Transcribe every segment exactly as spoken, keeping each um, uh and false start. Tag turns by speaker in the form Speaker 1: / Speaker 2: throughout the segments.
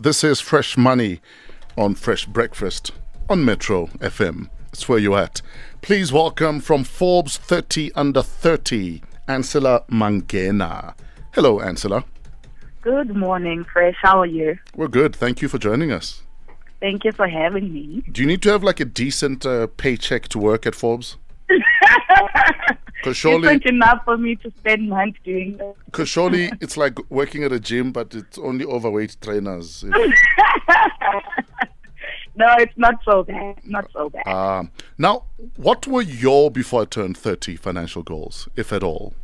Speaker 1: This is Fresh Money on Fresh Breakfast on Metro F M. That's where you're at. Please welcome from Forbes thirty under thirty, Ancila Mangena. Hello, Ancila.
Speaker 2: Good morning, Fresh. How are you?
Speaker 1: We're good. Thank you for joining us.
Speaker 2: Thank you for having me.
Speaker 1: Do you need to have like a decent uh, paycheck to work at Forbes? Because surely,
Speaker 2: it's enough for me to spend months doing that.
Speaker 1: Because surely it's like working at a gym, but it's only overweight trainers.
Speaker 2: No, it's not so bad. Not so bad.
Speaker 1: Um, now, what were your before I turned thirty financial goals, if at all?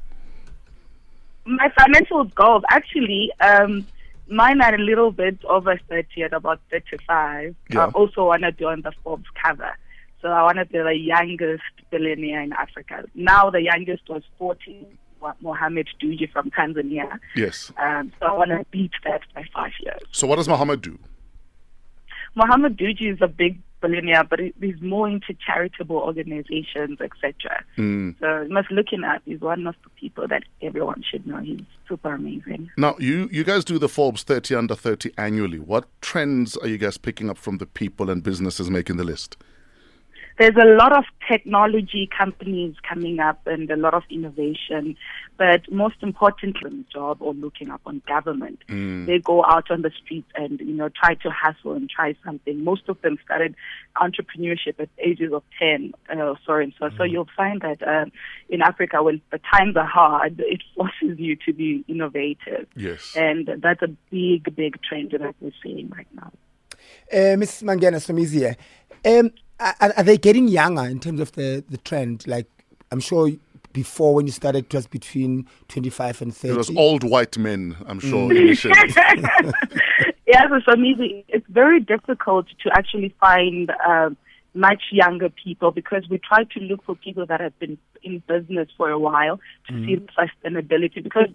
Speaker 2: My financial goals, actually, um, mine are a little bit over thirty, at about thirty-five.
Speaker 1: Yeah.
Speaker 2: I also want to be on the Forbes cover. So I want to be the youngest billionaire in Africa. Now the youngest was forty, Mohammed Dewji from Tanzania.
Speaker 1: Yes.
Speaker 2: Um, so I want to beat that by five years.
Speaker 1: So what does Mohammed do?
Speaker 2: Mohammed Dewji is a big billionaire, but he's more into charitable organizations, et cetera.
Speaker 1: Mm.
Speaker 2: So you must look him up. He's one of the people that everyone should know. He's super amazing.
Speaker 1: Now, you, you guys do the Forbes thirty under thirty annually. What trends are you guys picking up from the people and businesses making the list?
Speaker 2: There's a lot of technology companies coming up and a lot of innovation, but most importantly, job or looking up on government.
Speaker 1: Mm.
Speaker 2: They go out on the streets and, you know, try to hustle and try something. Most of them started entrepreneurship at ages of ten, uh, so and so. Mm. So you'll find that um, in Africa, when the times are hard, it forces you to be innovative.
Speaker 1: Yes.
Speaker 2: And that's a big, big trend that we're seeing right now.
Speaker 3: Uh, Miz Mangena Somizi, um, Are, are they getting younger in terms of the, the trend? Like, I'm sure before when you started, it was between twenty-five and thirty.
Speaker 1: It was old white men, I'm sure,
Speaker 2: Mm.
Speaker 1: initially.
Speaker 2: Yeah, so for me, it's very difficult to actually find uh, much younger people because we try to look for people that have been in business for a while to mm. see the sustainability, because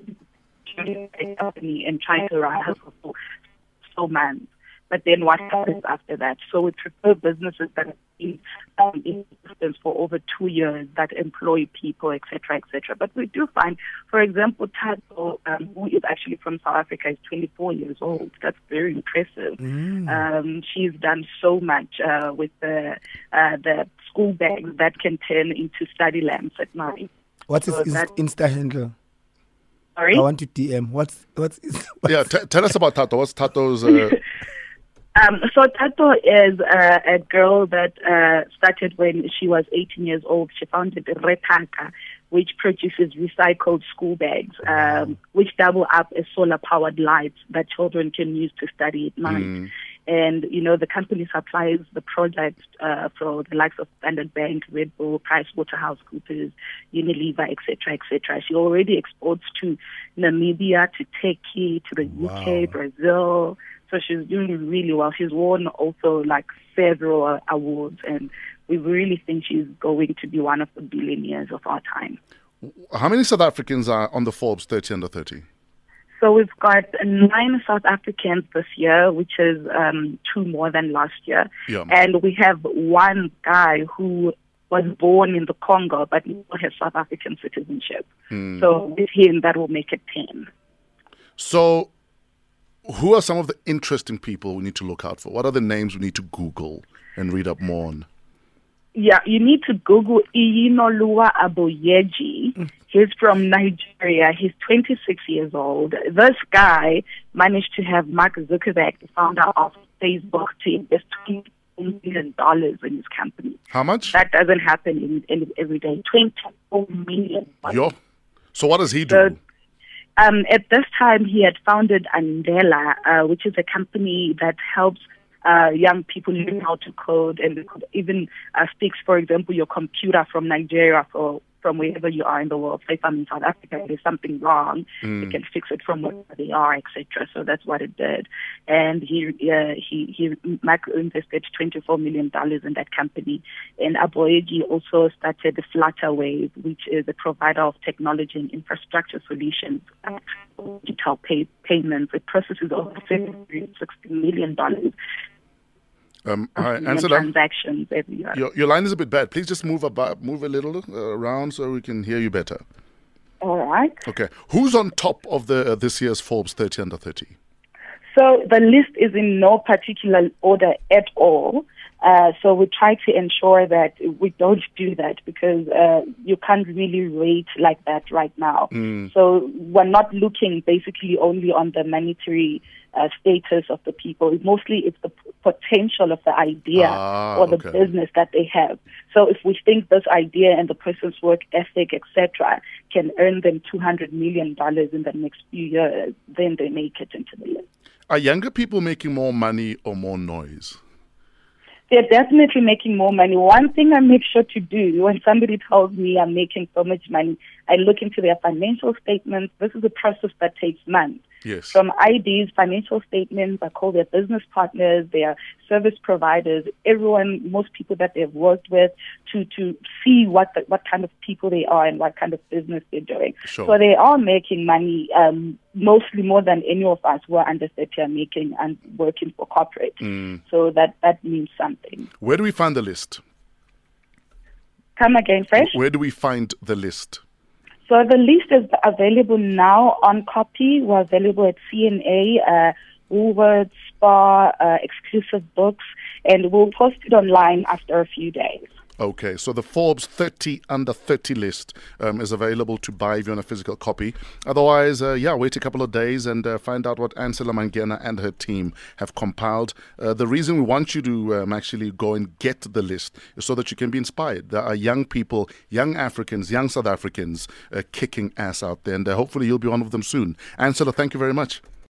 Speaker 2: a company and trying to rise for so months. But then what happens after that? So we prefer businesses that have been um, in existence for over two years, that employ people, et cetera, et cetera. But we do find, for example, Tato, um, who is actually from South Africa, is twenty-four years old. That's very impressive. Mm. Um, she's done so much uh, with the, uh, the school bags that can turn into study lamps at night.
Speaker 3: What is
Speaker 2: so
Speaker 3: his
Speaker 2: that,
Speaker 3: Insta handle?
Speaker 2: Sorry?
Speaker 3: I want to D M. What's, what's, what's
Speaker 1: Yeah, t- tell us about Tato. What's Tato's... Uh...
Speaker 2: Um, so Tato is uh, a girl that uh, started when she was eighteen years old. She founded Retaka, which produces recycled school bags, um, which double up as solar-powered lights that children can use to study at night. Mm. And, you know, the company supplies the product uh, for the likes of Standard Bank, Red Bull, PricewaterhouseCoopers, Unilever, et cetera, et cetera. She already exports to Namibia, to Turkey, to the wow. U K, Brazil. So she's doing really well. She's won also like several awards, and we really think she's going to be one of the billionaires of our time.
Speaker 1: How many South Africans are on the Forbes thirty under thirty?
Speaker 2: So we've got nine South Africans this year, which is um, two more than last year.
Speaker 1: Yeah.
Speaker 2: And we have one guy who was born in the Congo, but he has South African citizenship. Hmm. So with him, that will make it ten.
Speaker 1: So who are some of the interesting people we need to look out for? What are the names we need to Google and read up more on?
Speaker 2: Yeah, you need to Google Iyinoluwa Aboyeji. Mm. He's from Nigeria. He's twenty-six years old. This guy managed to have Mark Zuckerberg, the founder of Facebook, to invest twenty-four million dollars in his company.
Speaker 1: How much?
Speaker 2: That doesn't happen in, in every day. twenty-four million dollars.
Speaker 1: Yo. So what does he do?
Speaker 2: So, Um, at this time, he had founded Andela, uh, which is a company that helps uh, young people learn how to code, and it could even uh, fix, for example, your computer from Nigeria or from wherever you are in the world. Say if I'm in South Africa, there's something wrong, mm. it can fix it from wherever they are, et cetera. So that's what it did. And he uh, he he invested twenty-four million dollars in that company. And Aboyeji also started Flutterwave, which is a provider of technology and infrastructure solutions, uh, digital pay, payments. It processes over seven hundred sixty million dollars.
Speaker 1: Um, hi,
Speaker 2: Ancila, transactions every year.
Speaker 1: Your, your line is a bit bad. Please just move about, move a little uh, around so we can hear you better.
Speaker 2: All right.
Speaker 1: Okay. Who's on top of the uh, this year's Forbes thirty under thirty?
Speaker 2: So the list is in no particular order at all. Uh, so we try to ensure that we don't do that because uh, you can't really rate like that right now.
Speaker 1: Mm.
Speaker 2: So we're not looking basically only on the monetary uh, status of the people. Mostly it's the p- potential of the idea
Speaker 1: ah,
Speaker 2: or the
Speaker 1: okay.
Speaker 2: business that they have. So if we think this idea and the person's work ethic, et cetera, can earn them two hundred million dollars in the next few years, then they make it into the list.
Speaker 1: Are younger people making more money or more noise?
Speaker 2: They're definitely making more money. One thing I make sure to do when somebody tells me I'm making so much money, I look into their financial statements. This is a process that takes months.
Speaker 1: Yes.
Speaker 2: From I Ds, financial statements, I call their business partners, their service providers, everyone, most people that they've worked with, to, to see what the, what kind of people they are and what kind of business they're doing.
Speaker 1: Sure.
Speaker 2: So they are making money, um, mostly more than any of us who are under thirty are making and working for corporate.
Speaker 1: Mm.
Speaker 2: So that, that means something.
Speaker 1: Where do we find the list?
Speaker 2: Come again, Fresh?
Speaker 1: Where do we find the list?
Speaker 2: So the list is available now on copy. We're available at C N A, uh, Woolworths, Spar, uh, Exclusive Books, and we'll post it online after a few days.
Speaker 1: Okay, so the Forbes thirty under thirty list um, is available to buy if you want a physical copy. Otherwise, uh, yeah, wait a couple of days and uh, find out what Ancila Mangena and her team have compiled. Uh, the reason we want you to um, actually go and get the list is so that you can be inspired. There are young people, young Africans, young South Africans uh, kicking ass out there, and uh, hopefully you'll be one of them soon. Ancila, thank you very much.